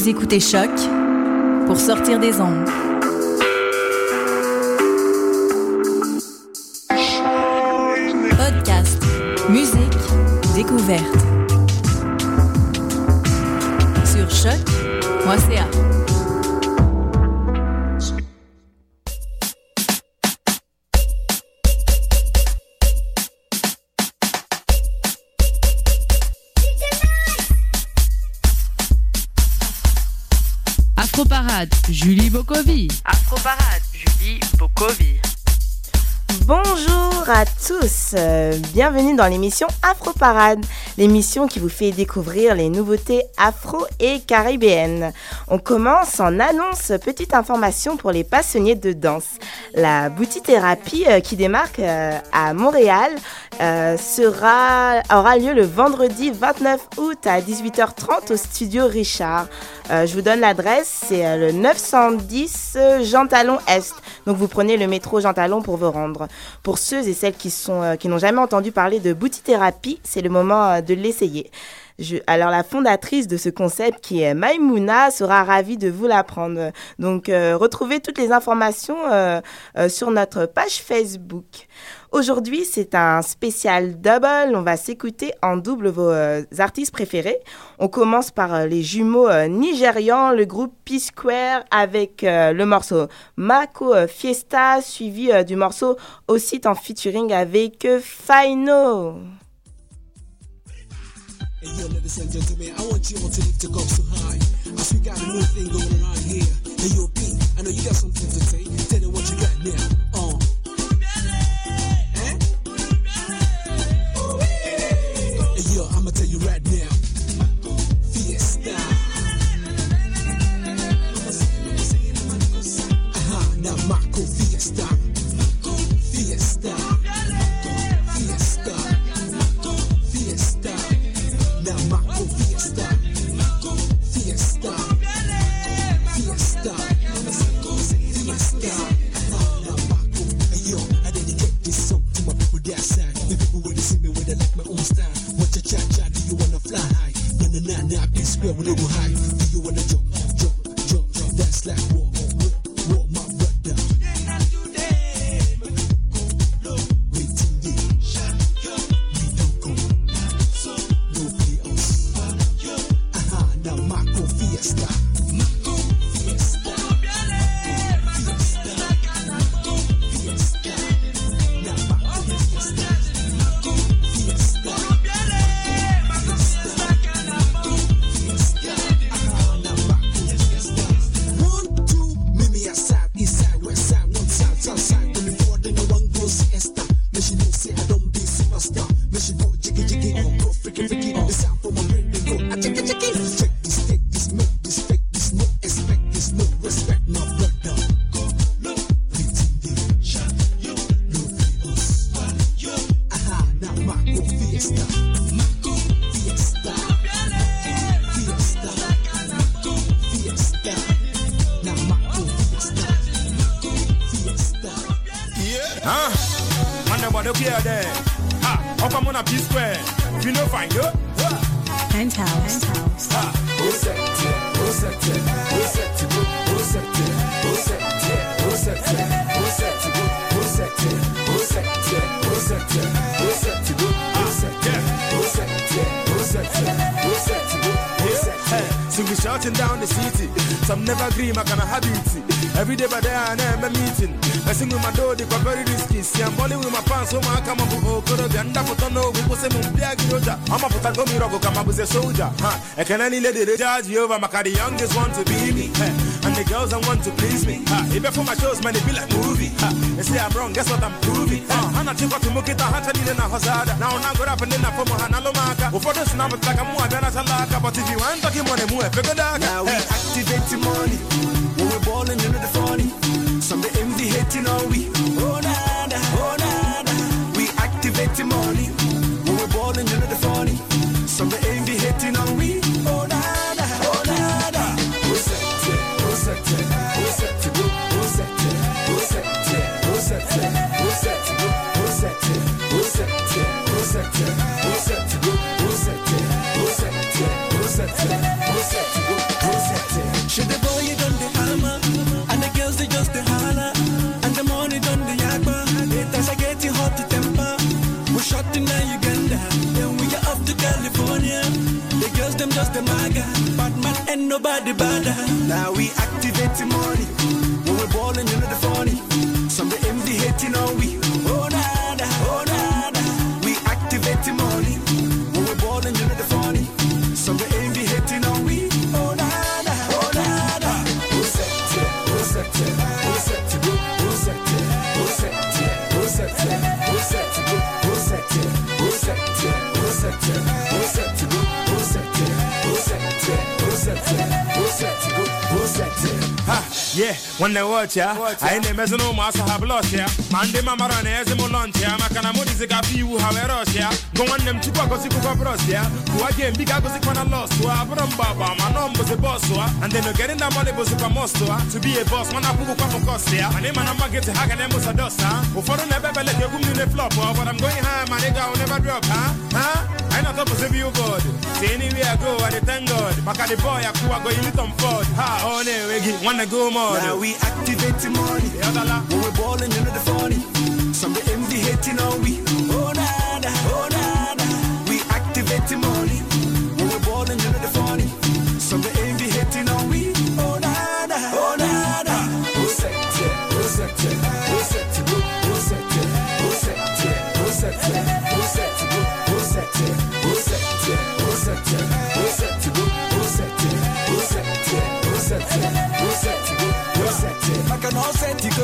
Vous écoutez Choc pour sortir des ondes. Podcast, musique, découverte. Sur choc.ca. Afroparade, Julie Bokovi. Afroparade, Julie Bokovi. Bonjour à tous, bienvenue dans l'émission Afroparade, l'émission qui vous fait découvrir les nouveautés afro et caribéennes. On commence en annonce, petite information pour les passionnés de danse. La Boutithérapie qui démarque à Montréal aura lieu le vendredi 29 août à 18h30 au studio Richard. Je vous donne l'adresse, c'est le 910 Jean Talon Est. Donc vous prenez le métro Jean Talon pour vous rendre. Pour ceux et celles qui n'ont jamais entendu parler de Boutithérapie, c'est le moment de l'essayer. Alors la fondatrice de ce concept qui est Maïmouna sera ravie de vous l'apprendre. Donc retrouvez toutes les informations sur notre page Facebook. Aujourd'hui, c'est un spécial double. On va s'écouter en double vos artistes préférés. On commence par les jumeaux nigérians, le groupe P-Square avec le morceau Mako Fiesta, suivi du morceau aussi en featuring avec Faino. Hey yo, ladies and gentlemen, I want you all to lift your cups so high. As we got a new thing going on here. Hey yo, P, I know you got something to say. Tell me what you got now. Hey yo, I'ma tell you right now. Fiesta. Now Marco Fiesta. Fiesta. Fiesta. Fiesta. Now Marco Fiesta. Fiesta. Fiesta. Fiesta. Now Marco. Hey yo, I dedicate this song to my people that side. The people when they see me, when they like my own style. What you cha-cha, do you wanna fly high? Nah, P-Square when they go high. Do you wanna jump? That's like war, my brother. Waiting there, we don't go. No play us. Now Marco Fiesta. Fiesta. Fiesta. Fiesta. Now Marco Fiesta. Fiesta. One, two, Mimi aside, east side, west side, north side, south side. When the board, then the one goes siesta. Me she know say I don't be superstar. Me she know jiggy, go freaky. The sound from my brain, they go jiggy. Check this, take this, make this, fake this, no expect this, no respect, my brother. Waiting there, no play us. Now Marco Fiesta. Fiesta. Fiesta. Fiesta. Now Marco Fiesta. Fiesta. Man, nobody care there. How come on a P-Square? You know, find you. Penthouse. So we shouting down the city. Some never agree, my kind of habit. Every day by day I am a meeting. I sing with my door, they got very risky. See, I'm balling with my pants, so I come up with Okoro, and that put on no, we will say Mumbiagoja. I'm a Patagomi Rogo, come up with a soldier. I can only let it judge you over my car, the youngest want to be me. And the girls that want to please me. Even for my shows, man, they be like movie. They say I'm wrong, guess what I'm proving. I'm not too to make it a hatchet in a hazard. Now I'm going up and then I put my hand on the marker. Before this now, it's like I'm more than a salaka. But if you want to give money, move, figure that. Now we activate the money. When we're balling into the funny. Some they envy hating on we. Oh nada. We activate the money. When we're balling into the funny. Some they envy hating on we. Oh nada. Who's that? just the holler. And the money done the yakba. It as I get it hot to temper. We shot in Uganda. Then we are off to California. The girls them just the maga. Bad man ain't nobody bad. Now we activate the money. When we're balling, you know the funny. Some the envy hating on we. Oh nada, oh nada. We activate the money. When we're balling, you know the funny. Some the envy hating on we. Oh nada, oh nada. Who set it? Who set it? Who set it? Who set it? Who set it? Who set it? Who set it? Who set it? Who set it? Who set it? Who set it? Who set it? Who set it? Who set it? Who set it? Who set it? Ha, yeah, when they watch ya, I ain't a no master have lost ya. Monday, Mama Run, as a lunch ya, Macana Modica, you have a rush ya. Go on them to Pacosico Bros ya. Who again, big Agosic when I lost to Abram Baba, my name was a boss, and then getting that money was a most to be a boss when I put up a cost here. My name and I'm getting to Hagan was a dust, huh? Before I never let you go in the flop, but I'm going high, my nigga will never drop, huh? I'm not up to you, God. See anywhere I go, I thank God. Maka the boy, I go in Tom Ford. Ha, oh, no, wanna go more. Now we activate the money. When we're balling, you know the funny. Some the envy hating on we. Oh nada, oh nada. We activate the money. When we're balling, you know the funny. Some the envy hating on we. Oh nada, oh nada. Who set it? Who set it? Who set it? Who set it? Who set it? Who set it? Who set it? Who set it? Who set it? Who set it? Who set it? Who set it? Who set it? Who set it? Who set it? Who set it? I can all set it go.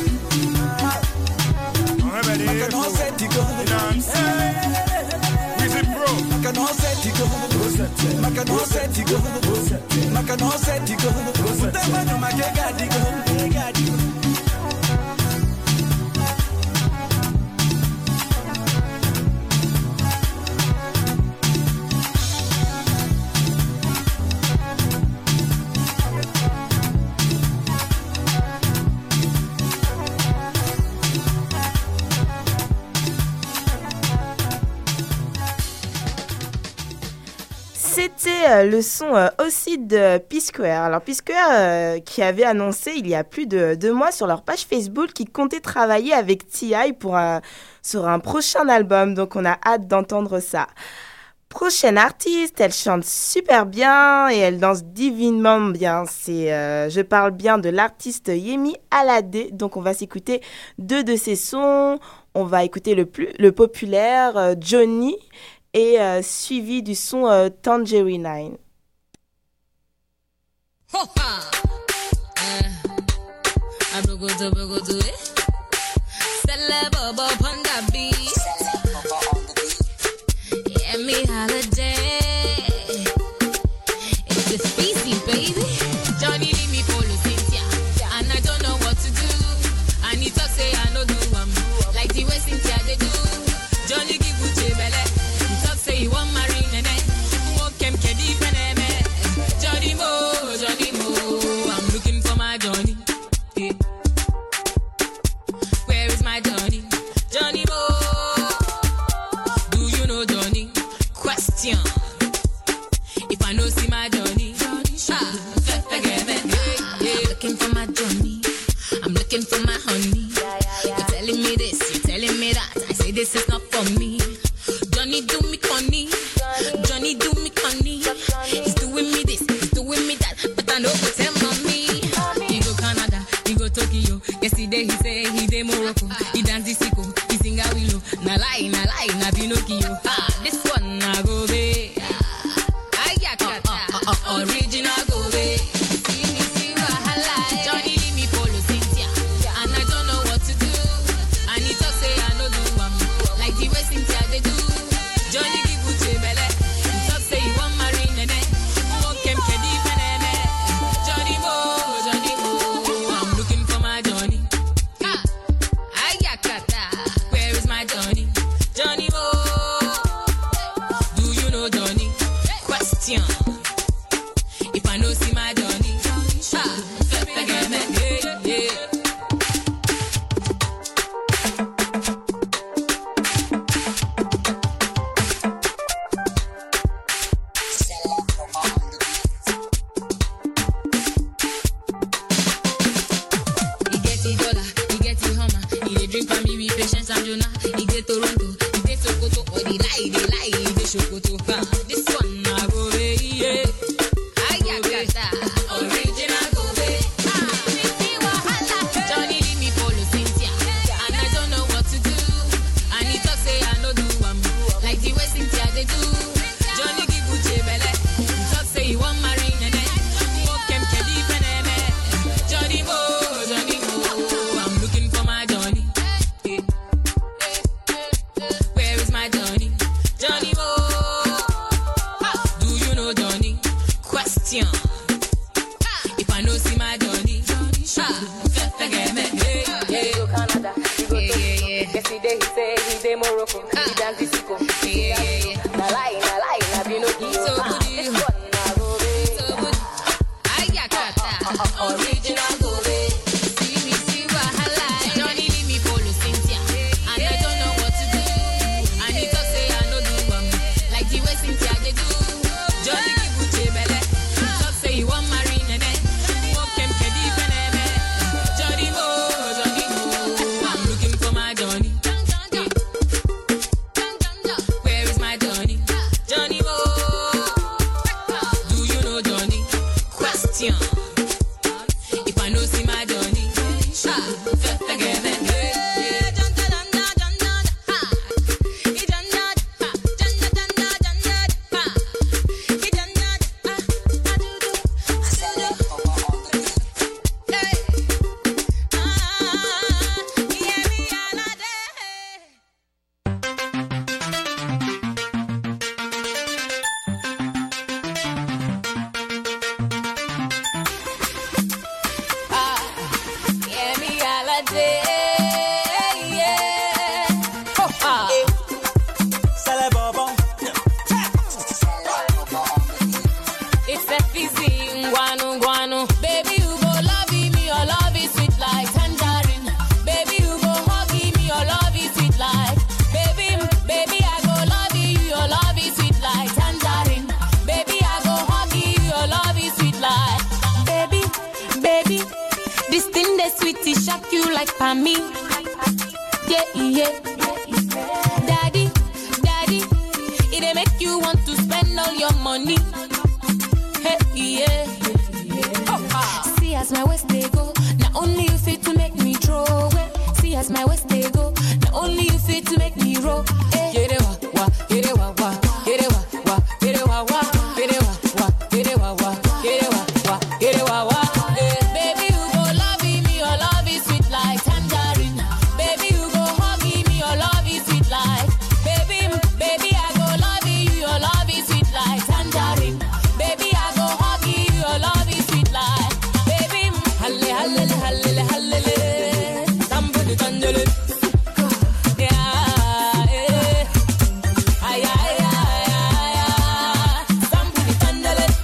I can all set it go. You know what I'm saying? Wizard Bro. I can all set it go. I can all set it go. I can all set it go. Put them on my gagadi go. C'était le son aussi de P-Square. Alors P-Square qui avait annoncé il y a plus de 2 mois sur leur page Facebook qu'ils comptaient travailler avec T.I. sur un prochain album. Donc on a hâte d'entendre ça. Prochaine artiste, elle chante super bien et elle danse divinement bien. Je parle bien de l'artiste Yemi Alade. Donc on va s'écouter 2 de ses sons. On va écouter le populaire Johnny et suivi du son Tangerine 9. Yemi Alade, it's a species, baby. Johnny leave me for Cynthia, and I don't know what to do. And he talk say I no do like the way Cynthia they do. Johnny give Uche belle, he talk say he want marry nene. Walk him kedi peneme. Johnny Mo, I'm looking for my Johnny. Yeah. Where is my Johnny? Johnny Mo. If I know see my Johnny, looking for my Johnny, I'm looking for my honey. You're telling me this, you're telling me that. I say this is not for me. Johnny do me conny, Johnny do me conny. He's doing me this, he's doing me that, but I know what's him on me. He go Canada, he go Tokyo. Yesterday he say he de Morocco. He dance the sicko, he sing a willow. Na lie, na Pinocchio. This one na go be. Original go away. See wahala. Johnny lie, the shokoto. This one na go be, yeah. Ayakata, original go be. Johnny leave me follow Cynthia, and I don't know what to do. And he talk say I no do like the way Cynthia they do. Johnny give Uche belle, he talk say he want marry Nene. Mokem kedi peneme, Johnny Mo, I'm looking for my Johnny. Where is my Johnny? Johnny Mo, do you know Johnny? Question. If I know see my Johnny, forget me. He go Canada, he go Toronto. Yesterday he say he dey Morocco. He dance disco. Na lie, na Pinocchio. So good, This one na go be. so good. Ayakata, original go be. See wahala. Johnny leave me follow Cynthia, and I don't know what to do. And he talk say I no do like the way Cynthia they do. Johnny give Uche belle, he talk say he want marry Nene. Mokem kedi peneme, Johnny Mo, I'm looking for my Johnny. Where is my Johnny? Johnny Mo, do you know Johnny? Question. If I know see my Johnny, forget me. Yeah, me holiday, yeah. It's a fizzy, guanu. Baby, you go love me, your love is sweet like tangerine. Baby, you go hug me, your love is sweet like. Baby, I go love you, your love is sweet like tangerine. Baby, I go hug you, your love is sweet like. Baby, this thing that sweet, it shock you like for me. Yeah. Daddy, it dey make you want to spend all your money. Hey, yeah. See as my waist they go, not only you fit to make me throw away. See as my waist they go, not only you fit to make me roll. Get it wa, get it wa, get it wa, get it wa, get it wa, get it wa, get it wa, get it wa. Baby, you go love me, your love is sweet like tangerine. Baby, you go hug me, your love is sweet like. Baby, I go love you, your love is sweet like tangerine. Baby, I go hug you, your love is sweet like. Baby, halle, somebody tangerine. Yeah. Ay, somebody tangerine.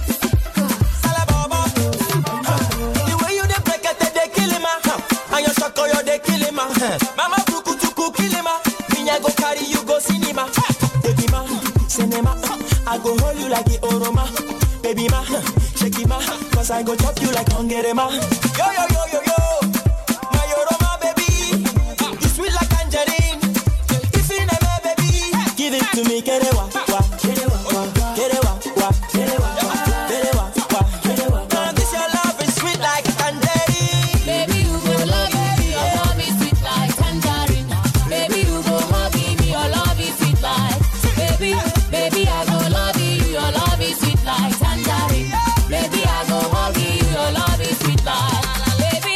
The way you dey break it, they kill him, and your shako you dey kill him, Mama buku tuku kill him, me I go carry you go cinema, baby ma, cinema, I go hold you like the oroma, baby ma, shake it ma, 'cause I go chop you like hungry ma. Yo, my oroma baby, you sweet like tangerine, if you never baby, give it to me, get it wa, get it wa, get it wa, get it wa, get it wa, get it wa. Now this your love is sweet like tangerine. Baby, you go love me, your love is sweet like tangerine. Baby, you go hug me, your love is sweet like. Baby, I go love you, your love is sweet like tangerine. Baby, I go hug you, your love is sweet like. Baby,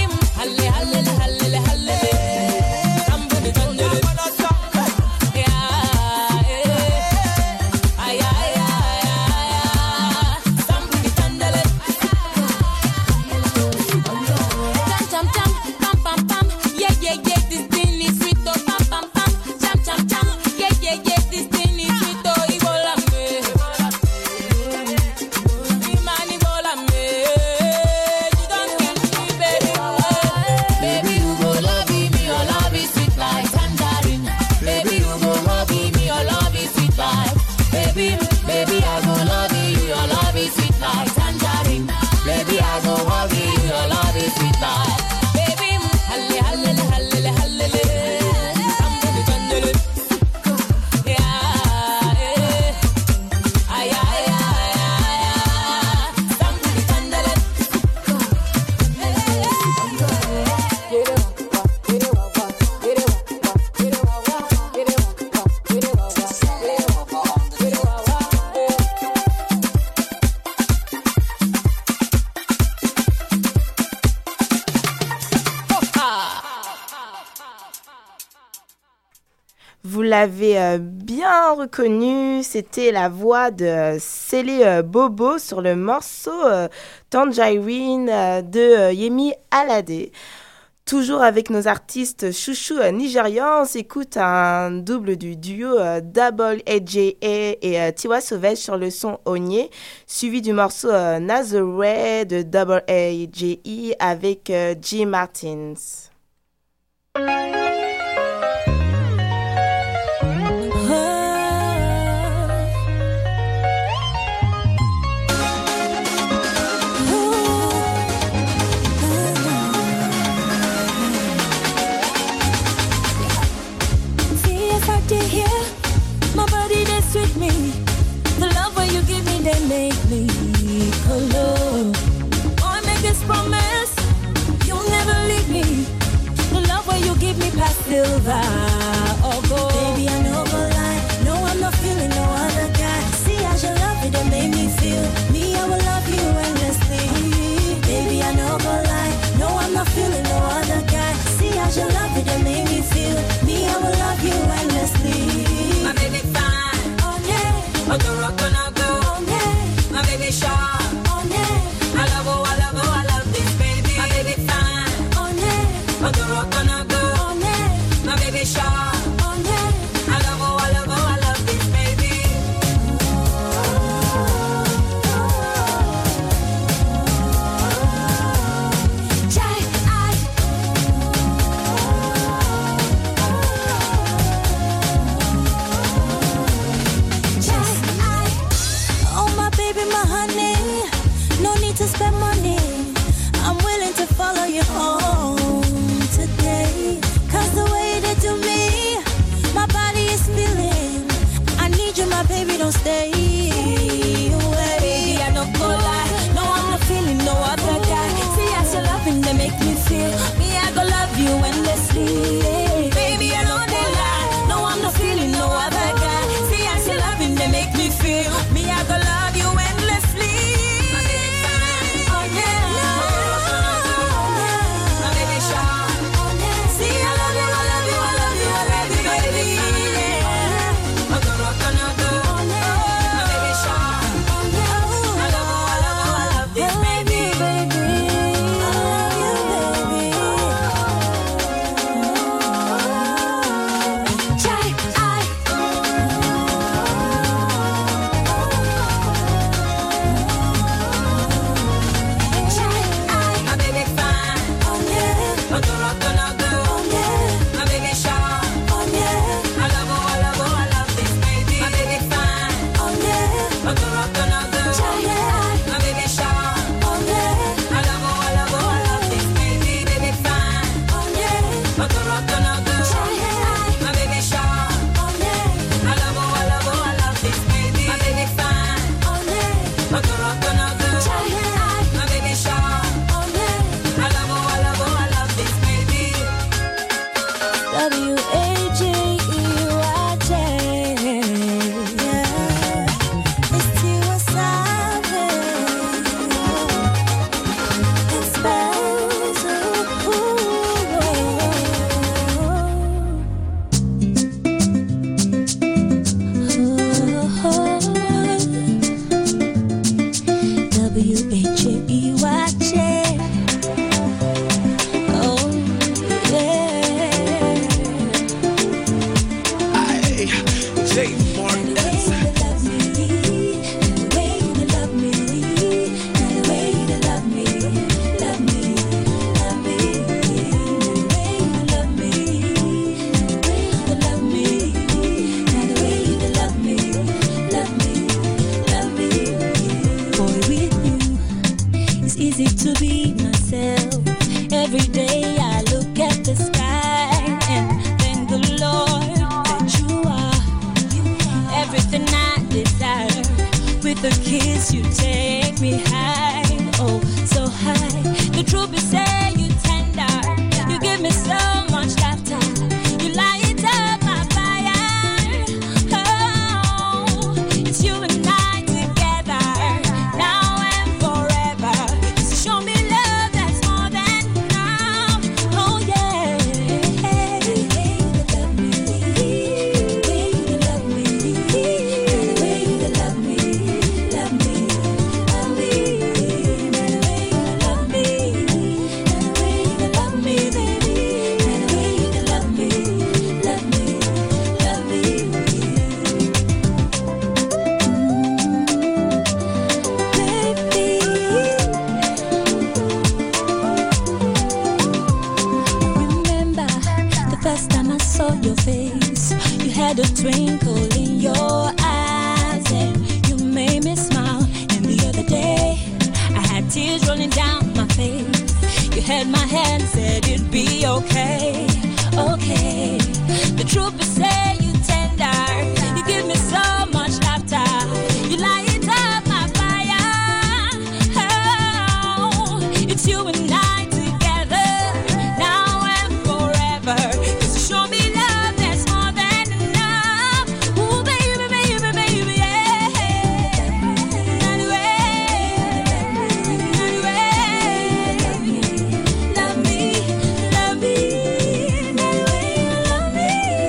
halle, somebody tangerine. Yeah. Vous l'avez bien reconnu, c'était la voix de Sele Bobo sur le morceau Tangerine de Yemi Alade. Toujours avec nos artistes chouchous nigérians, on s'écoute un double du duo Double AJA et Tiwa Savage sur le son Onye, suivi du morceau Nazareth de Double AJE avec G. Martins. With me, the love where you give me, they make me color. I make this promise, you'll never leave me. The love where you give me past silver or gold. Baby, I know go lie, no I'm not feeling no other guy. See how you love it and made me feel. Me, I will love you endlessly. Baby, I know go lie, no I'm not feeling no other guy. See how you love it and made me feel. Me, I will love you endlessly. My baby fine. On the rock and I go, my baby sharp. I love oh, I love oh, I love this baby. My baby fine. On the rock and I go, my baby sharp. I love oh, I love oh, I love this baby. Spend money, I'm willing to follow you home today. Cause the way they do me, my body is feeling. I need you, my baby, don't stay away. Baby, I don't go lie, no, I'm not feeling no other guy. See as you're loving, they make me feel. Me, I go love you endlessly. Baby, I don't go lie, no, I'm not feeling no other guy. See as you're loving, they make me feel. Me, I go love you endlessly. had a twinkle in your eyes and you made me smile. And the other day, I had tears rolling down my face. You held my hand and said it'd be okay, okay. The truth is say you tender, you give me so much laughter. You light up my fire. Oh, it's you and I together, now and forever. 'Cause you show me love that's more than enough. Ooh, baby, baby, baby, yeah. Love me, love me, love me, love me,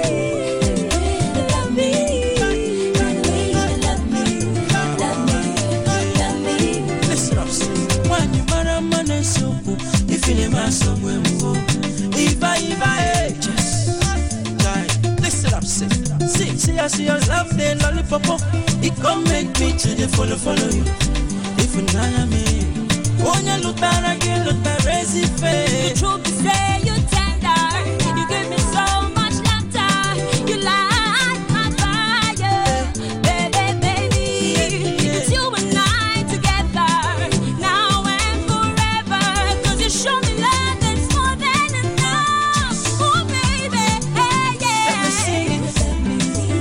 love me, love me, love me, love me. Listen up, sis. When you marry man and so if you never somewhere move. If I just die. Listen up, sis. See, I see your love, then lollipop. It come make me to the follow you. If you not me, when you look back again, look back, raise it face. The truth is say you tender, you give me so much laughter. You light my fire, baby, baby. It's you and I together, now and forever. 'Cause you show me love that's more than enough. Oh, baby, hey, yeah. Let me sing it. Love me,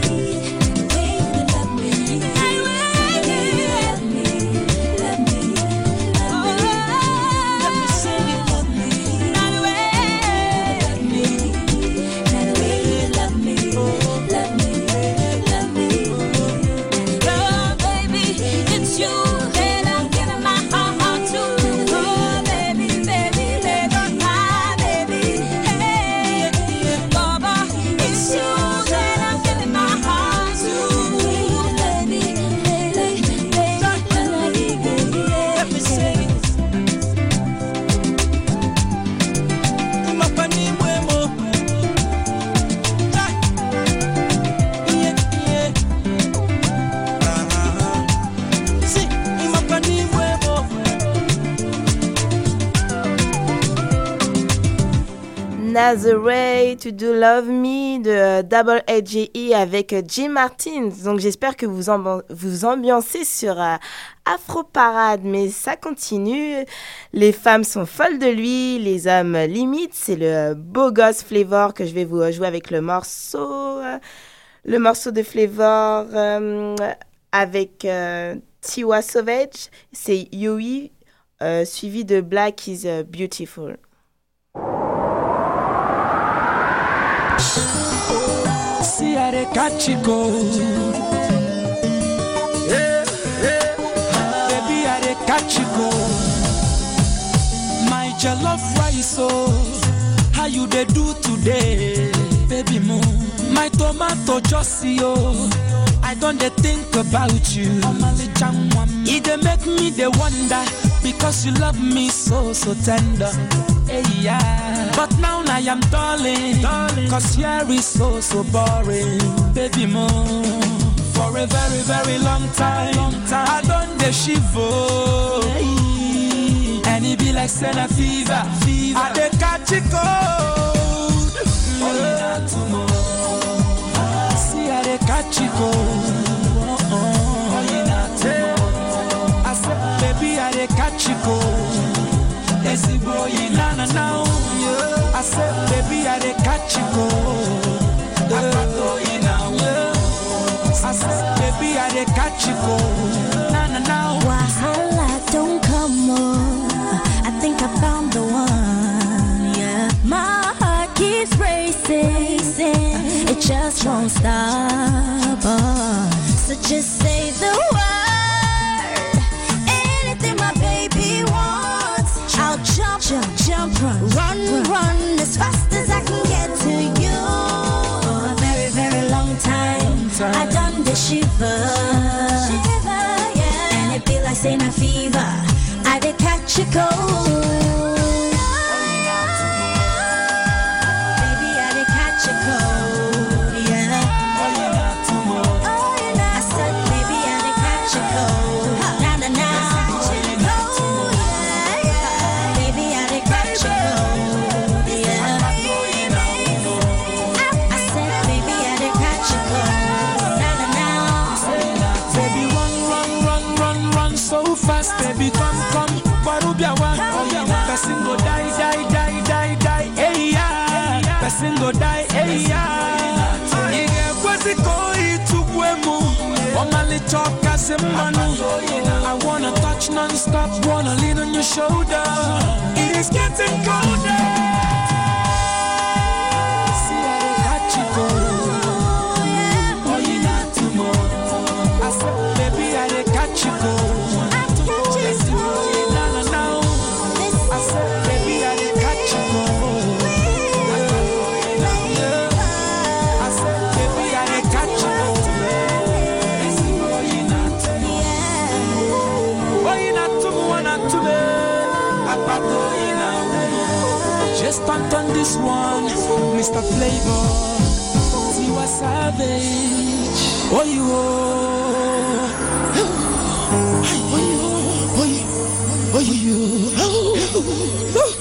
love me, love me, love me. Let me sing it. Love me, love me, love me, love me, love me. Oh, baby, it's you that I'm giving my heart to. Oh, baby, baby, baby, my baby, hey, Baba, it's you that I'm giving my heart to. Baby, baby, baby, Let me sing it. Imapani mwemo. Yeah. See, imapani mwemo. Nazareth to Do Love Me de Double AJE avec Jim Martin. Donc j'espère que vous ambiancez sur Afro Parade, mais ça continue. Les femmes sont folles de lui, les hommes limites. C'est le beau gosse Flavor que je vais vous jouer avec le morceau de Flavor avec Tiwa Savage. C'est Yui suivi de Black is Beautiful. See how they catch you go. Baby, how they catch you go. My jollof rice, oh, how you they do today, baby mo. My tomato just see, oh, I don't they think about you. It they make me they wonder because you love me so tender. Hey, yeah. But now I am darling, cause here is so boring, baby mo. For a very, very long time, I done the shivo. Hey. And it be like Senna fever. I dey catch it cold. See how they catch it cold. I said, baby, I dey catch it cold. Esi boy na now. I said, baby, I dey catch you go. I said, baby, I dey catch you go. Na now. Wahala don't come on. I think I found the one. Yeah, my heart keeps racing. It just won't stop. So just say the word. Anything my baby wants, I'll jump, run as fast as I can get to you. For a very, very long time, I done the shiver, yeah. And it be like saying a fever. I did catch a cold. Baby, I did catch a cold, yeah. I said, baby, die. Hey, yeah. What's it going to Wemu? Omali talk as a man. I wanna touch non-stop, wanna lean on your shoulder. It is getting colder. See how they got you go. Oh, you not tomorrow. I said, baby, I they got you go. Just pumped on this one, Mr. Playboy, Tiwa Savage. Oh you, oh you.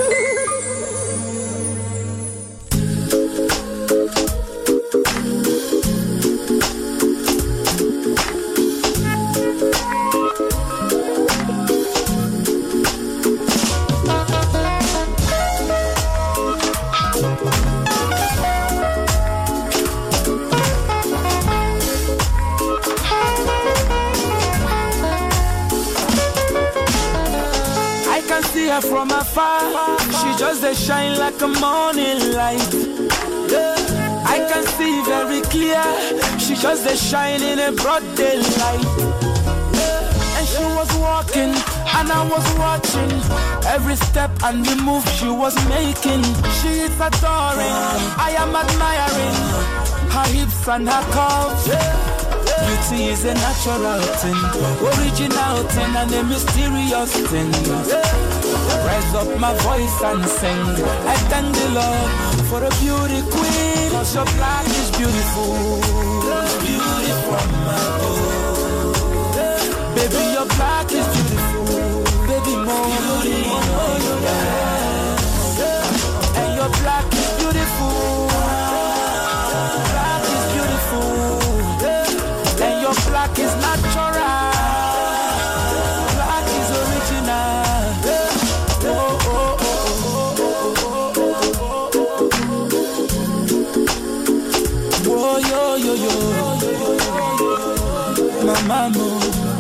From afar, she just a shine like a morning light. Yeah. I can see very clear, she just a shine in a broad daylight. Yeah. And she was walking, and I was watching every step and the move she was making. She is adoring, I am admiring her hips and her curves. Yeah. Beauty is a natural thing, original thing and a mysterious thing. Yeah. Raise up my voice and sing. I thank the Lord for a beauty queen. Cause your black is beautiful. Beauty from my soul. Baby, your black is beautiful. Baby, more beauty, more yes. And your black is beautiful. Black is beautiful. And your black is natural. Black is original. Mama,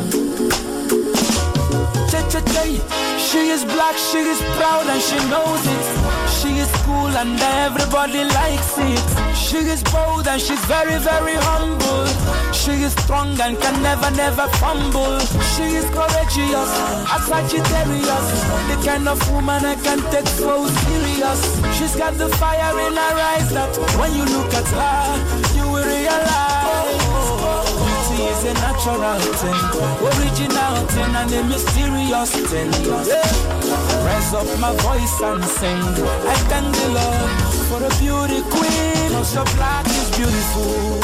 she is black, she is proud and she knows it. She is cool and everybody likes it. She is bold and she's very, very humble. She is strong and can never, never fumble. She is courageous, a Sagittarius, the kind of woman I can take so serious. She's got the fire in her eyes that when you look at her, you will realize beauty is a natural thing, original thing and a mysterious thing. Yeah. Raise up my voice and sing. I thank the Lord for a beauty queen. Cause your black is beautiful.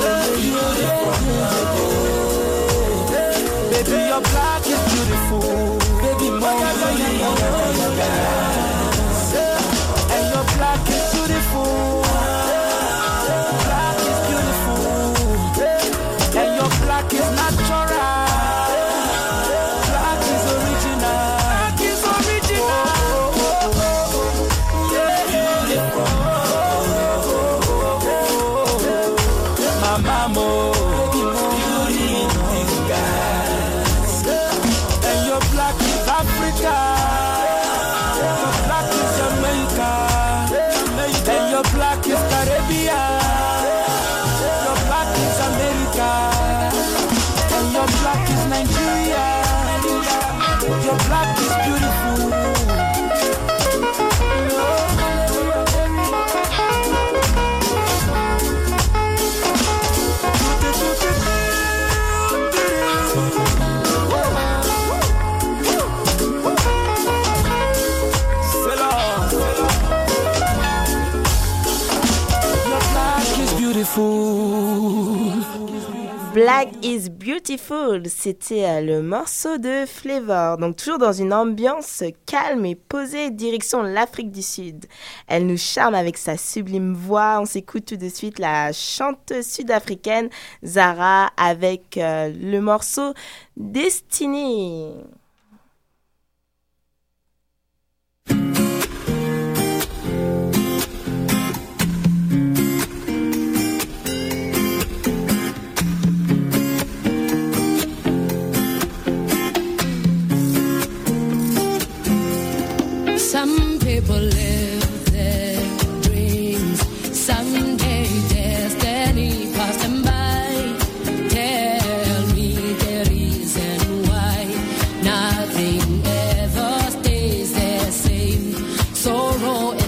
Baby, your black is beautiful. Baby, more and your black is beautiful. Black is beautiful. And your black is natural. Black is original. Black is original. My mama. Your black is beautiful. Black is Beautiful, c'était le morceau de Flavor. Donc toujours dans une ambiance calme et posée, direction l'Afrique du Sud. Elle nous charme avec sa sublime voix. On s'écoute tout de suite la chanteuse sud-africaine Zara avec le morceau Destiny.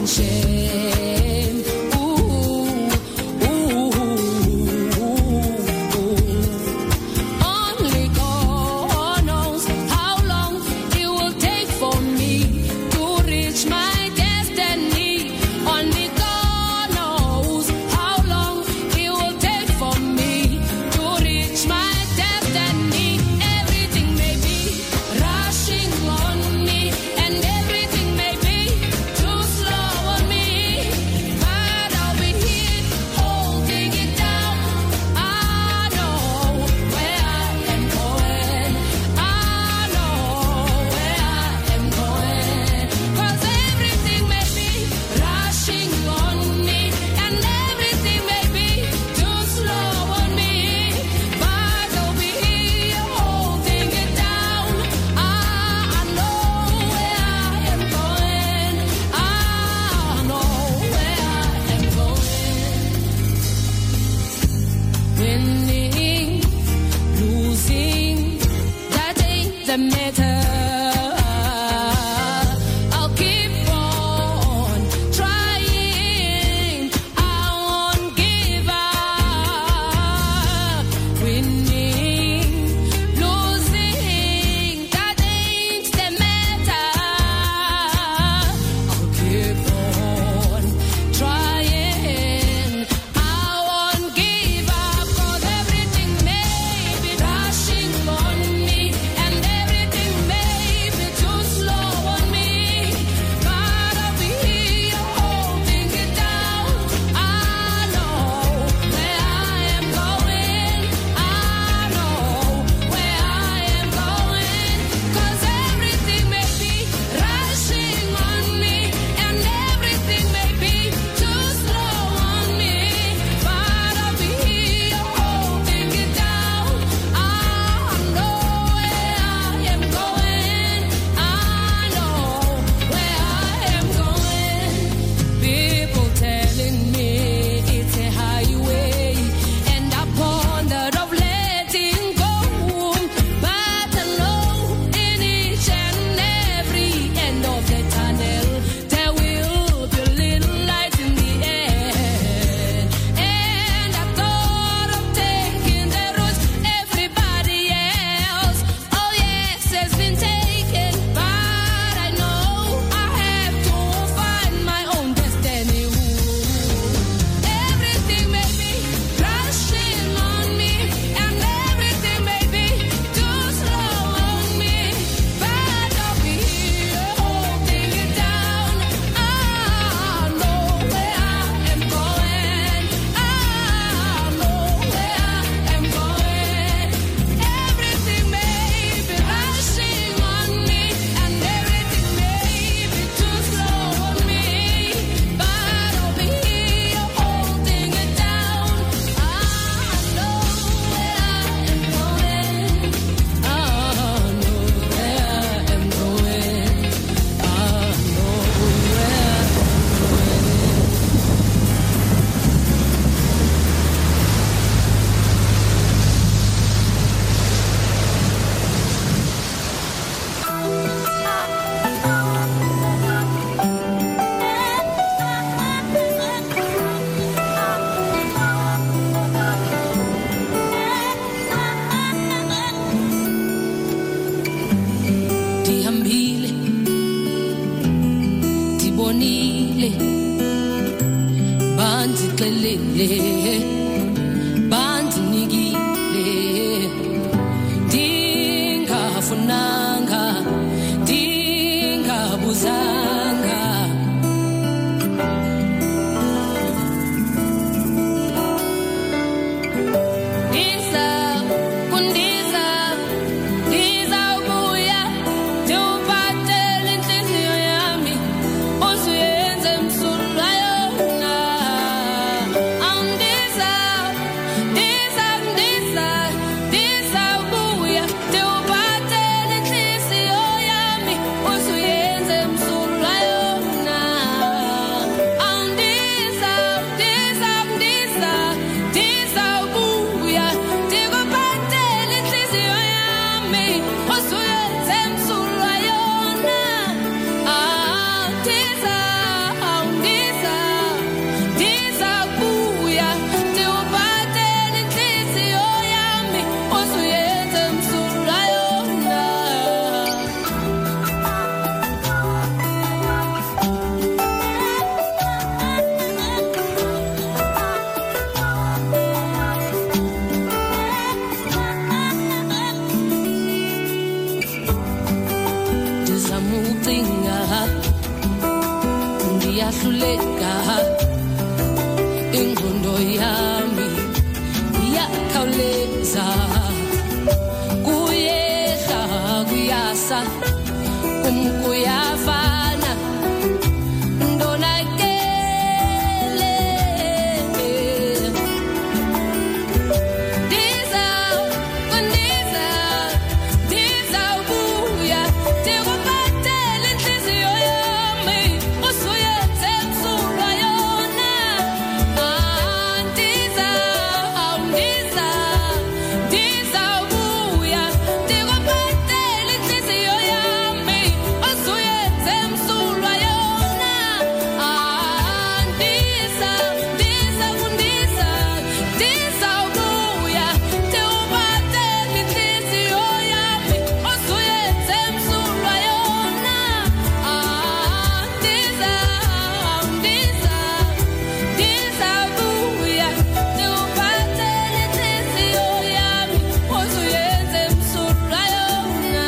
shame. Only God knows how long it will take for me to reach my destiny. Only God knows how long it will take for me to reach my destiny. Everything may be rushing on me, and everything may be too slow on me, but I'll be here holding it down. I know where I am going. I know where I am going. 'Cause everything may be rushing on me, and everything may be too slow on me, but I'll be here holding it down. I know where I am going. I know where I am going. Winning, losing, that ain't the matter. I'll keep on trying. I won't give up. Winning, losing, that ain't the matter. I'll keep on trying. I won't give up. 'Cause everything may be rushing on me, and everything may be too slow on me, but I'll be here holding it down. I know where I am going. I know where I am going. 'Cause everything may be rushing on me, and everything may be too slow on me, but I'll be here holding it down. I know where I am going. I know where I am going. People telling me it's a highway, and I pondered of letting go, but I know in each and every end of the tunnel there will be a little light in the end. And I thought of taking the road everybody else, oh yes, has been taken, but I know I have to find my own destiny. Everything may be rushing on me, and everything may be too slow on me, but I'll be here holding it down. I know where I am going. I know where I am going. Everything may be rushing on me, and everything may be too slow on me, but I'll be here holding it down. I know where I am going. I know where I am going. I know where I am Dihambile, dibonile, bandixelele, bandinikile, dingafunanga, dingabuzanga. Ndiza, kundiza, ndizawubuya, ndiwuphathele inhliziyo yami, uzuyenze msulwa yona. Andiza, iyahluleka ingqondo yami iyakhawuleza kuyehla kuyasa kuyafana ndonakele ndiza buya ndikuphathele inhliziyo yami usuyenze msulwa yona ndiza buya ndikuphathele inhliziyo yami usuyenze msulwa yona ndiza buya ndikuphathele inhliziyo yami usuyenze msulwa yona ndiza buya ndikuphathele inhliziyo yami usuyenze msulwa yona.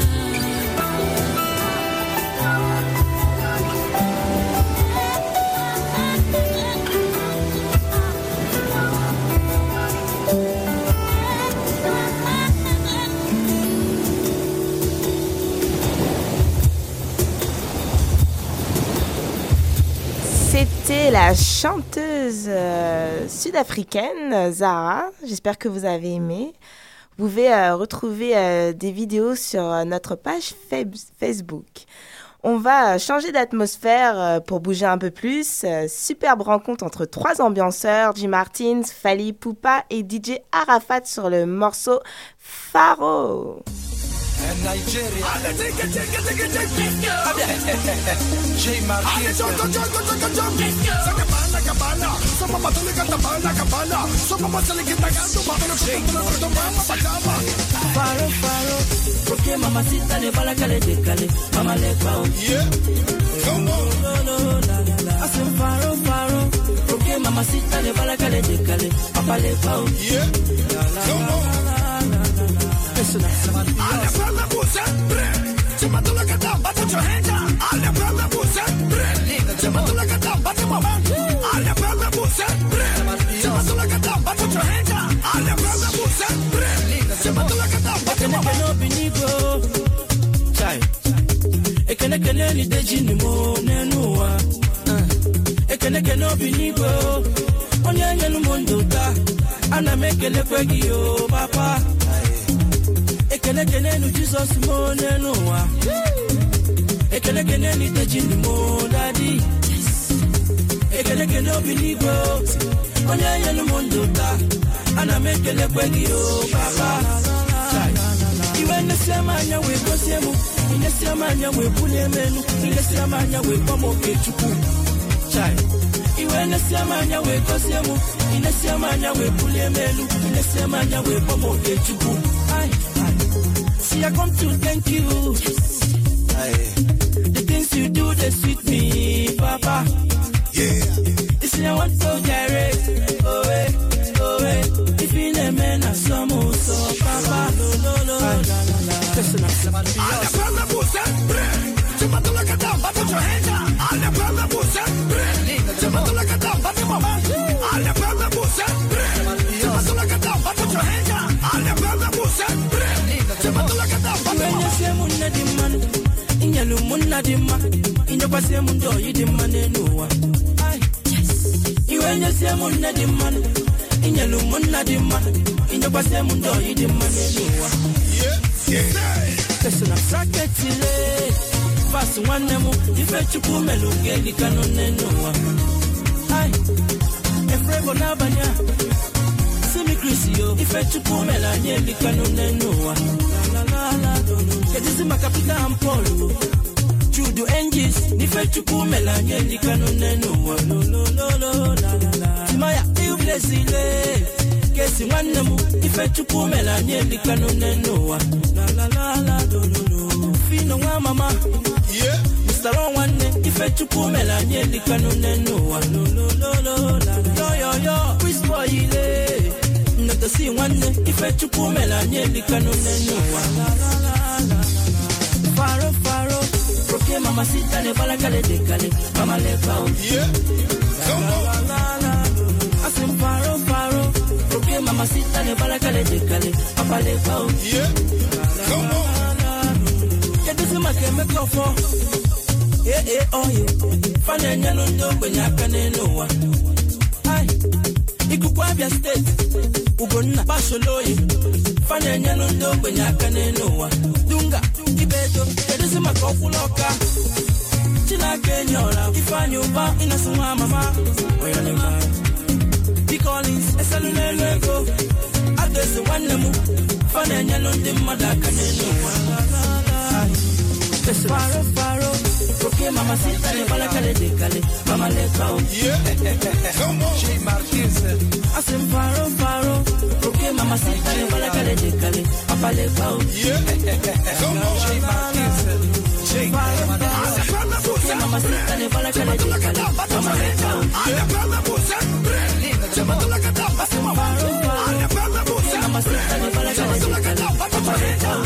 C'était la chanteuse sud-africaine Zara. J'espère que vous avez aimé. Vous pouvez retrouver des vidéos sur notre page Facebook. On va changer d'atmosphère pour bouger un peu plus. Superbe rencontre entre 3 ambianceurs, Jim Martins, Fally Ipupa et DJ Arafat sur le morceau Pharaoh. Nigeria. J Marquez. Faro, porque mamacita le bala cale de cale, mama le pao. Yeah, come on. Hacen faro, porque mamacita le bala cale de cale, papa le pao. Yeah, come on. Alle fella busa, se mando la gata, bate your hands up. Alle fella busa, se mando la gata, bate mama. Alle fella busa, se mando la gata, bate your hands up. Alle fella busa, se mando la gata, bate mama. No binigo, chai. Ekene ni deji ni mo nenua. Ekene no binigo, onye no mondo ta. Ana mekele kwegi yo papa. Ekene no Jesus mo nenua. Ekene ni deji ni mo daddy. Ekene no binigo, onye no mondo ta. Ana mekele kwegi yo papa. Iwe nesemanya we kosiemu, inesemanya we pulemenu, inesemanya we pomoke chuku. Chai. Iwe nesemanya we kosiemu, inesemanya we pulemenu, inesemanya we pomoke chuku. Ai. See, I come to thank you. The things you do, they sweet me, Papa. Yeah. This I want to direct. Oh, if in a man, I saw so, Papa. Listen up. Alle fella busa, se mando la gata, bate your hands up. Alle fella busa, se mando la gata, bate mama. Alle fella busa, se mando la gata, bate your hands up. Alle fella busa, se mando la gata, bate mama. Se munna di man, inyelu munna di ma, inyoba se mundo yidi manenua. Iwenye se munna di man, inyelu munna di ma, inyoba se mundo yidi manenua. Listen up, saketile. Fast one nemu, ife chupu melungeli kanonenua. Ai, efrego nabanya. Simi Crisio, ife chupu melanyeli kanonenua. Kedisi makapita ampolo. Judo engis, ife chupu melanyeli kanonenua. Timaya, iublesile. Kesi one nemu, ife chupu melanyeli kanonenua. Fino wa mama, yeah. Mr. One, ife chupu melanyeli kanonenua. Yo, whisper ile. Nata si one, ife chupu melanyeli kanonenua. Faro, porque mamacita le bala cale de cale, mama le pao. oh. Yeah, come on. Get this in my camera for. Oh, you. Fanya nyano ndo kwenye akane noa. Ay, ikukwabia state. Ugonna basoloye. Fanya nyano ndo kwenye akane noa. Dunga, kibeto. Get this in my kofuloka. China kenyora. Ifanyo ba inasuwa mama. Oyole ma. The Collins, esalulele go. Adesi wanemu. Fanya nyano ndi madakane noa. Faro. Okay, mama sita le bala kale de kale. Mama le kao. Yeah, come on. Jay Marquez. Asim faro. Okay, mama sita le bala kale de kale. Papa le kao. Yeah, come on. Jay Marquez. Jay Marquez. Okay, mama sita le bala kale de kale. Mama le kao. Yeah, mama sita le bala kale de kale. Papa le kao.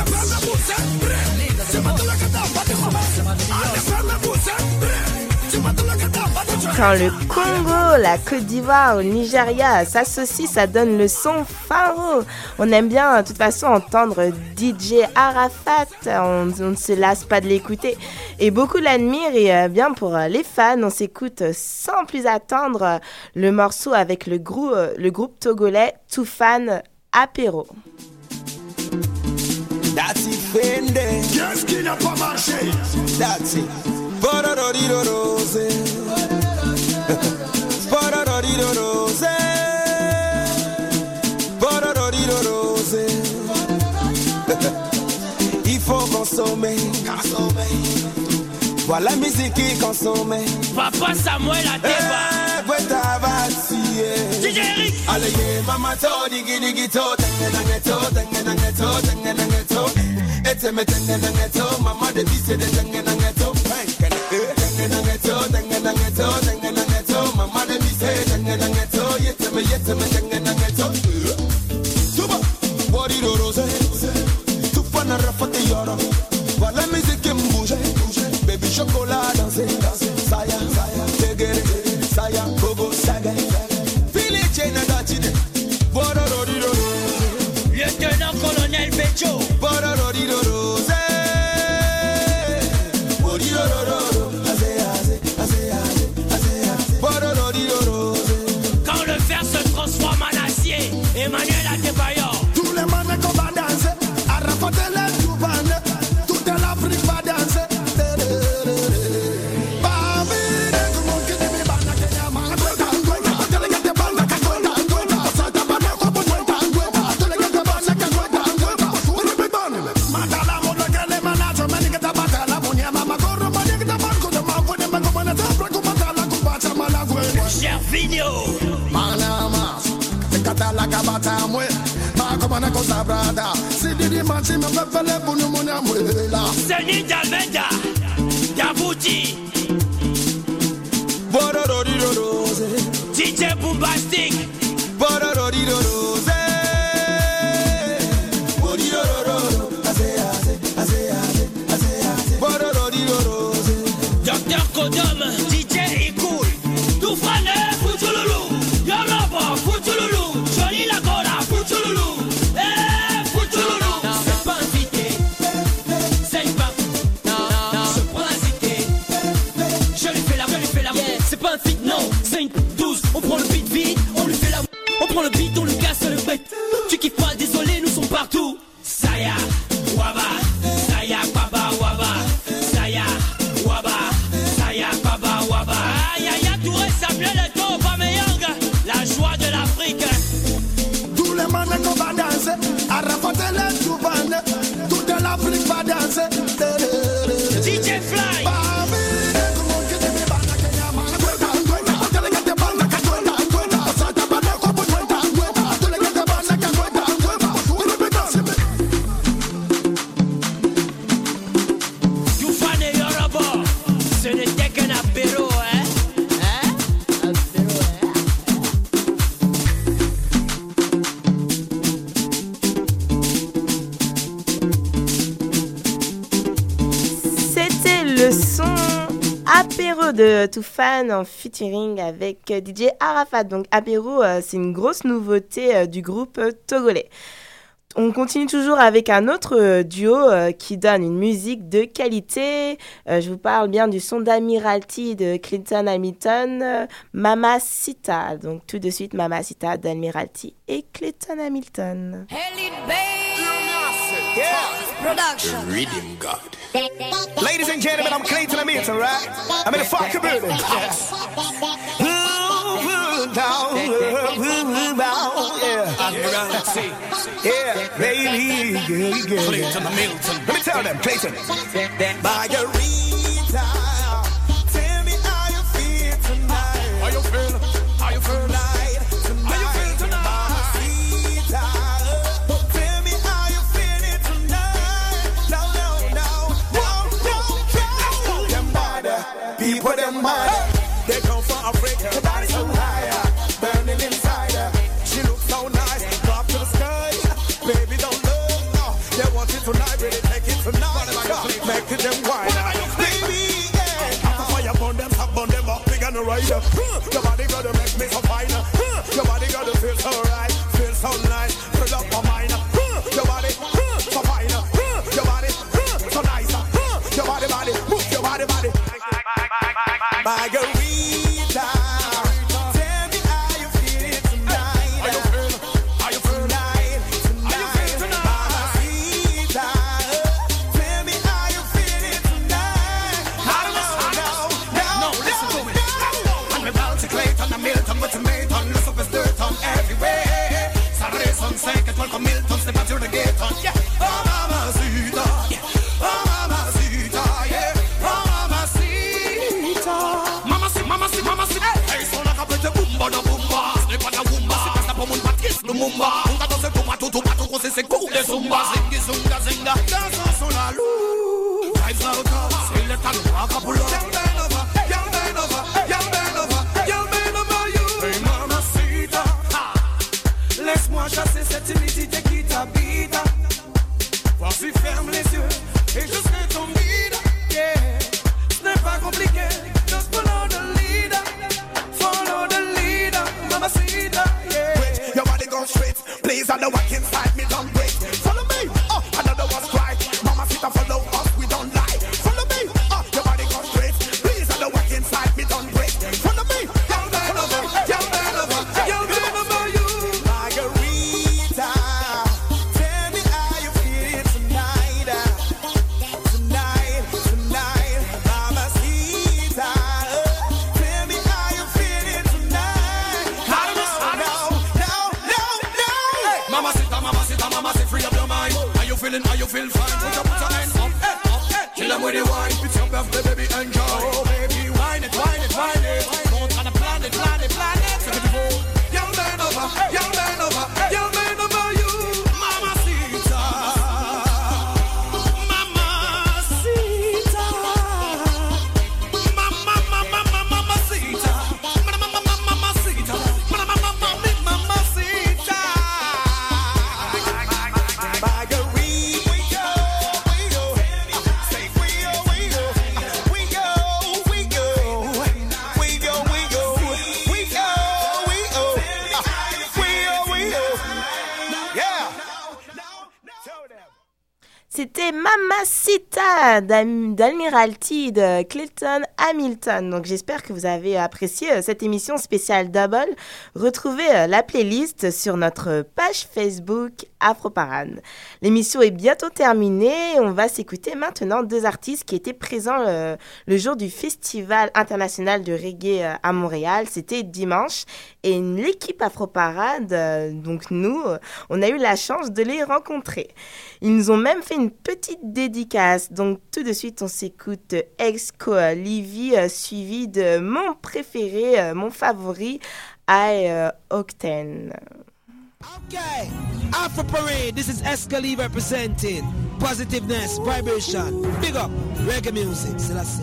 Quand le Congo, la Côte d'Ivoire ou le Nigeria s'associent, ça donne le son Pharaoh. On aime bien de toute façon entendre DJ Arafat, on ne se lasse pas de l'écouter. Et beaucoup l'admirent et bien pour les fans, on s'écoute sans plus attendre le morceau avec le groupe togolais Toufan Apéro. That's it, Fende. Yes, qui n'a pas marché. That's it. Borororido rose. Borororido rose. Borororido rose. Il faut consommer. Voilà la musique qui consomme. Papa Samuel Ateba. DJ Eric. Allez, mama to, digi to, tengenangeto. Tengenangeto, mama de bise de tengenangeto. Tengenangeto, mama de bise tengenangeto. Yeteme tengenangeto. Tuba, body rose. Tufana rafate yoro. Voilà musique qui me bouge. Baby chocolat danser. Saya, tegere, saya, gogo, saga. Fili chena dachine. Borororido. Lieutenant colonel Becho. Borororido rose. Borororido. Borororido rose. Quand le fer se transforme en acier, Emmanuel Adebayor. Tous les mannes qu'on va danser, à rafater les toubanes, toute l'Afrique va danser. La cabata mwe, ma komana kosa brada. Si didi manchi me fele bunu muna mwela. Seni Dalmeda, Yabouti, Borororido rose. DJ Bombastic, Borororido rose. Borororido, Borororido rose. Docteur Kodom, DJ Ikoul, Toufane, Foutoulou, Yorobo, Foutoulou. On le beat, on lui casse le bec. Tu kiffes pas, désolé, nous sommes partout. Saya, Waba, Saya, Baba, Waba, Saya, Waba, Saya, Baba, Waba. Yaya Touré s'appelait le dos, Bameyang, la joie de l'Afrique. Tous les mannes qu'on va danser, à rafater les toubanes, toute l'Afrique va danser. DJ Fly. Apéro de Toufan en featuring avec DJ Arafat. Donc Apéro, c'est une grosse nouveauté du groupe togolais. On continue toujours avec un autre duo qui donne une musique de qualité. Je vous parle bien du son d'Admiralty de Clinton Hamilton, Mamacita. Donc tout de suite, Mamacita d'Admiralty et Clinton Hamilton. Production. The Rhythm God. Ladies and gentlemen, I'm Clinton Hamilton, right? I'm in the fucking building. Admiralty. Yeah, baby. Clinton Hamilton. Let me tell them, Clinton. Margarita, tell me how you feel tonight. How you feel? How you feel? People them mad, they come from Africa, the body so high, burning inside her. She looks so nice, drop to the sky. Baby don't look, no, they want it tonight, really take it tonight. Make it them wine, baby, yeah. After fire burn them, top burn them up, big and a rider. Your body gotta make me so fine. Your body gotta feel so right, feel so nice, fill up my mind. Your body so fine, your body so nice. Your body, move your body. Margarita, tell me how you feel tonight. How you feel? Tonight. Mamacita, tell me how you feel tonight. No, listen to me. I'm about to Clayton and Milton with tomato, look up as dirt on everywhere. Saturday sunset, get welcome Milton, step out to the gate on. Yeah. Oh, Mamacita, yeah. Oh, Mamacita, yeah. Hey, so like a pretty boomba da boomba, slip on a woomba, sit a pomun patis lumumba. Unga doce tu matu cose se kude zumba, zingi zunga zinga. Danza sola lu, vibes out of, say let a rock a pull up. Young man over, you. Hey Mamacita, laisse-moi chasser cette timidité qui t'habite. Voici ferme les yeux et je serai ton guide. Yeah, ce n'est pas compliqué. Just follow the leader, Mamacita, yeah. Wait, your body go straight, please, I know what inside me don't break. Follow me, another one's right. Mamacita, follow us, we don't lie. Follow me, your body go straight, please, I know what inside me don't break. Follow me, young man over you. Margarita, tell me how you feel tonight. Mamacita, tell me how you feel tonight. Mamacita, free up your mind. How you feeling? How you feel fine? Put your hands up, kill them with the wine. It's your birthday, baby, enjoy. Oh, baby, wine it. Don't try to plan it. So get the phone. Young man over you. Mamacita. C'était Mamacita d'Admiralty de Clinton Hamilton. Donc j'espère que vous avez apprécié cette émission spéciale Double. Retrouvez la playlist sur notre page Facebook Afroparade. L'émission est bientôt terminée. On va s'écouter maintenant deux artistes qui étaient présents le jour du Festival international de reggae à Montréal. C'était dimanche. Et l'équipe Afroparade, donc nous, on a eu la chance de les rencontrer. Ils nous ont même fait une petite dédicace. Donc tout de suite, on s'écoute Exco Livy, suivi de mon préféré, mon favori, Octane. Okay, Afro Parade, this is Escali representing positiveness, vibration, big up, reggae music, Celestia.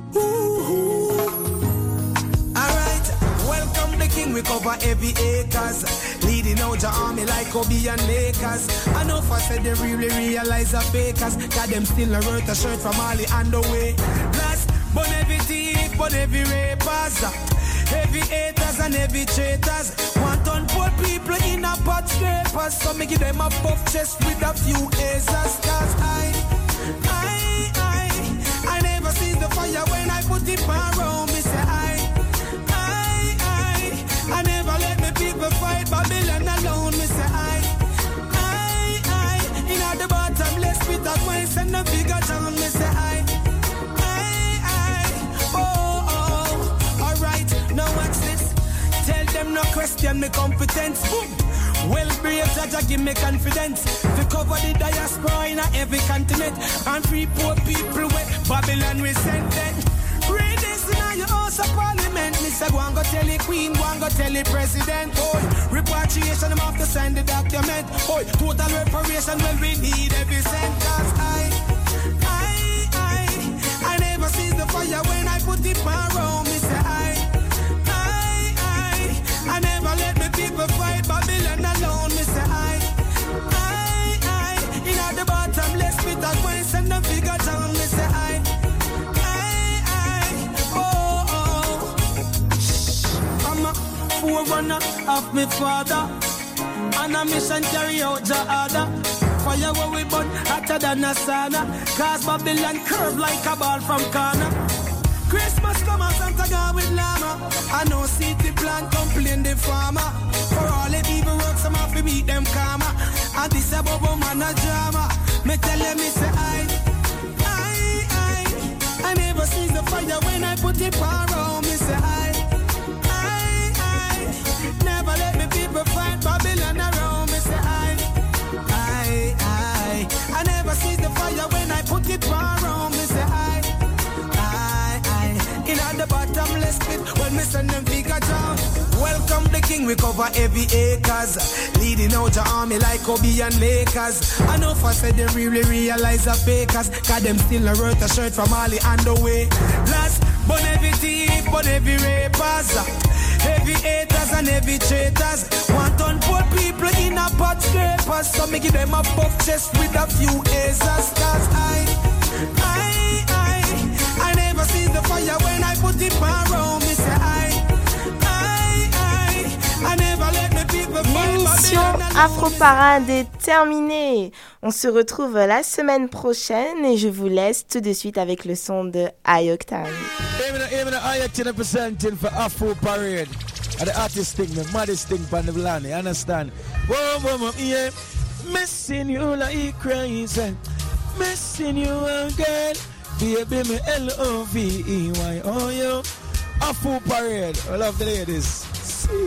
Alright, welcome the king, we cover every acres, leading out your army like Kobe and Lakers. I know if I said they really realize the fakers, cause them still a worth a shirt from Mali and the way. Plus, burn every thief, burn every rapers, heavy haters and heavy traitors. Want on poor people in a pot butt scrapers, so me give them a puff chest with a few acers. Cause I never see the fire when I put it around me. Say I never let me people fight Babylon alone. Me say I in the bottomless pit of waste and the bigger town. Me say alright, now watch this. Tell them no question me competence. Well, brave judge, give me confidence. To cover the diaspora in every continent and free poor people with Babylon we send them. Read this in your house of parliament. Mr. Go and go tell the queen, go and go tell the president. Oh, repatriation, I'm have to sign the document. Oh, total reparation, well, we need every cent. Cause I never see the fire when I put it around me. Say I never let me people fight Babylon alone. Me say I in the bottomless pit of waste and the bigger town. Me say I'm a forerunner of my father, and a mission carry out the order. Fire where we burn hotter than a sauna, cause Babylon curve like a ball from corner. Christmas come and Santa God with llama. I know city plan complain the farmer. For all the evil works I'm have to meet them karma. And this a bubble man a drama. Me tell them me say I never see the fire when I put it around. Me say I never let me people fight Babylon around. Me say I never see the fire when I put it around. Me say in the bottomless pit when me send them figure down. Welcome the king, we cover every acres, leading out the army like Kobe and Lakers. I know if I said they really realize the fakers, cause them still a worth a shirt from Mali and the way. Last, but every thief, but every rapers, heavy haters and heavy traitors. Want on poor people in a pot scrapers, so me give them a buff chest with a few acers. Cause I never see the fire when I put it around me. Say I never let me people fight. L'émission Afro Parade est terminée. On se retrouve la semaine prochaine et je vous laisse tout de suite avec le son de Ayoktan. Even Ayoktan presenting for Afro Parade. The artist thing, the maddest thing from the land, you understand? Whoa, yeah. Missing you like crazy. Missing you again. Baby, me L-O-V-E-Y. Oh, yo. Afro Parade. I love the ladies. See.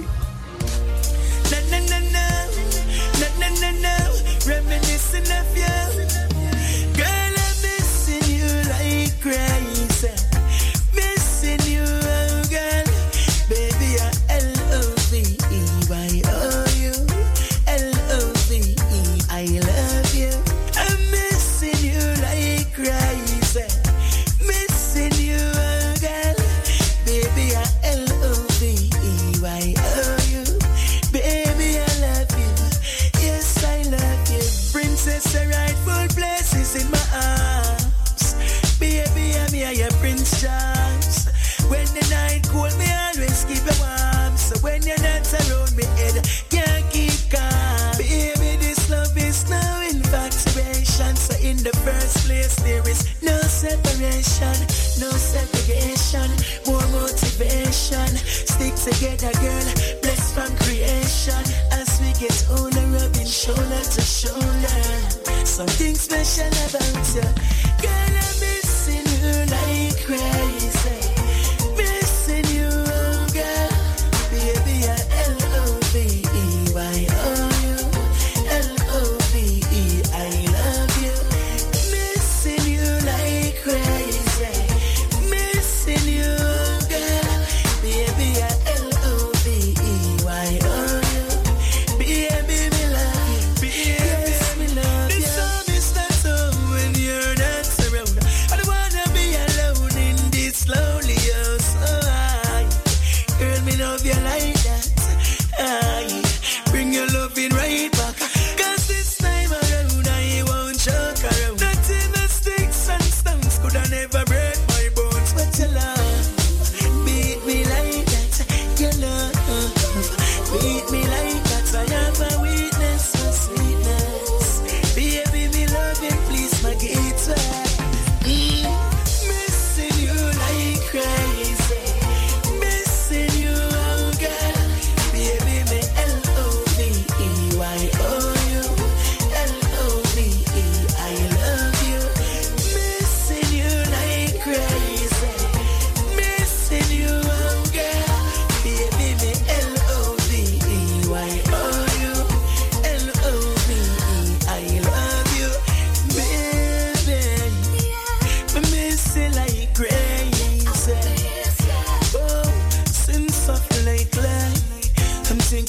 No. Reminiscing of you. Girl, I'm missing you like crazy. Missing you, oh, girl. Baby, I L-O-V-E-Y. Oh, you. L-O-V-E. I love you. I'm missing you like crazy. Missing you, oh, girl. Baby, I L-O-V-E-Y. Oh, you. Baby, I love you. Yes, I love you. Princess, the rightful place is in my arms. Baby, I'm here, your Prince Charles. When the night cold, me always keep it warm. So when you're not around me, head can't keep calm. Baby, this love is no infatuation. So in the first place, there is no separation, no segregation, more motivation. Stick together, girl, blessed from creation. As we get older, rubbing shoulder to shoulder. Something special about you. Girl, I'm missing you like crazy. Missing you, oh, girl. Baby, I L-O-V-E-Y. Oh, you. L-O-V-E. I love you. Missing you like crazy. Missing you, oh, girl. Baby, I L-O-V-E-Y. Oh, you. Baby, me love you. Baby, yes, me love you. This song is not over when you're not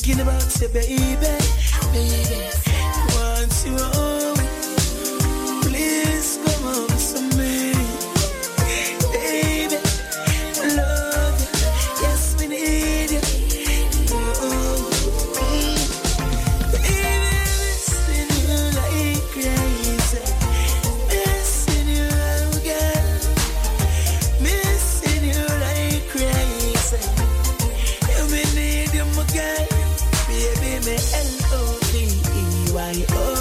thinking about you, baby. Want you home, please come home to me, baby. Love you, yes we need you. Baby, missing you like crazy, missing you, girl, missing you like crazy. You me need you, my girl, baby, me L-O-V-E-Y-O.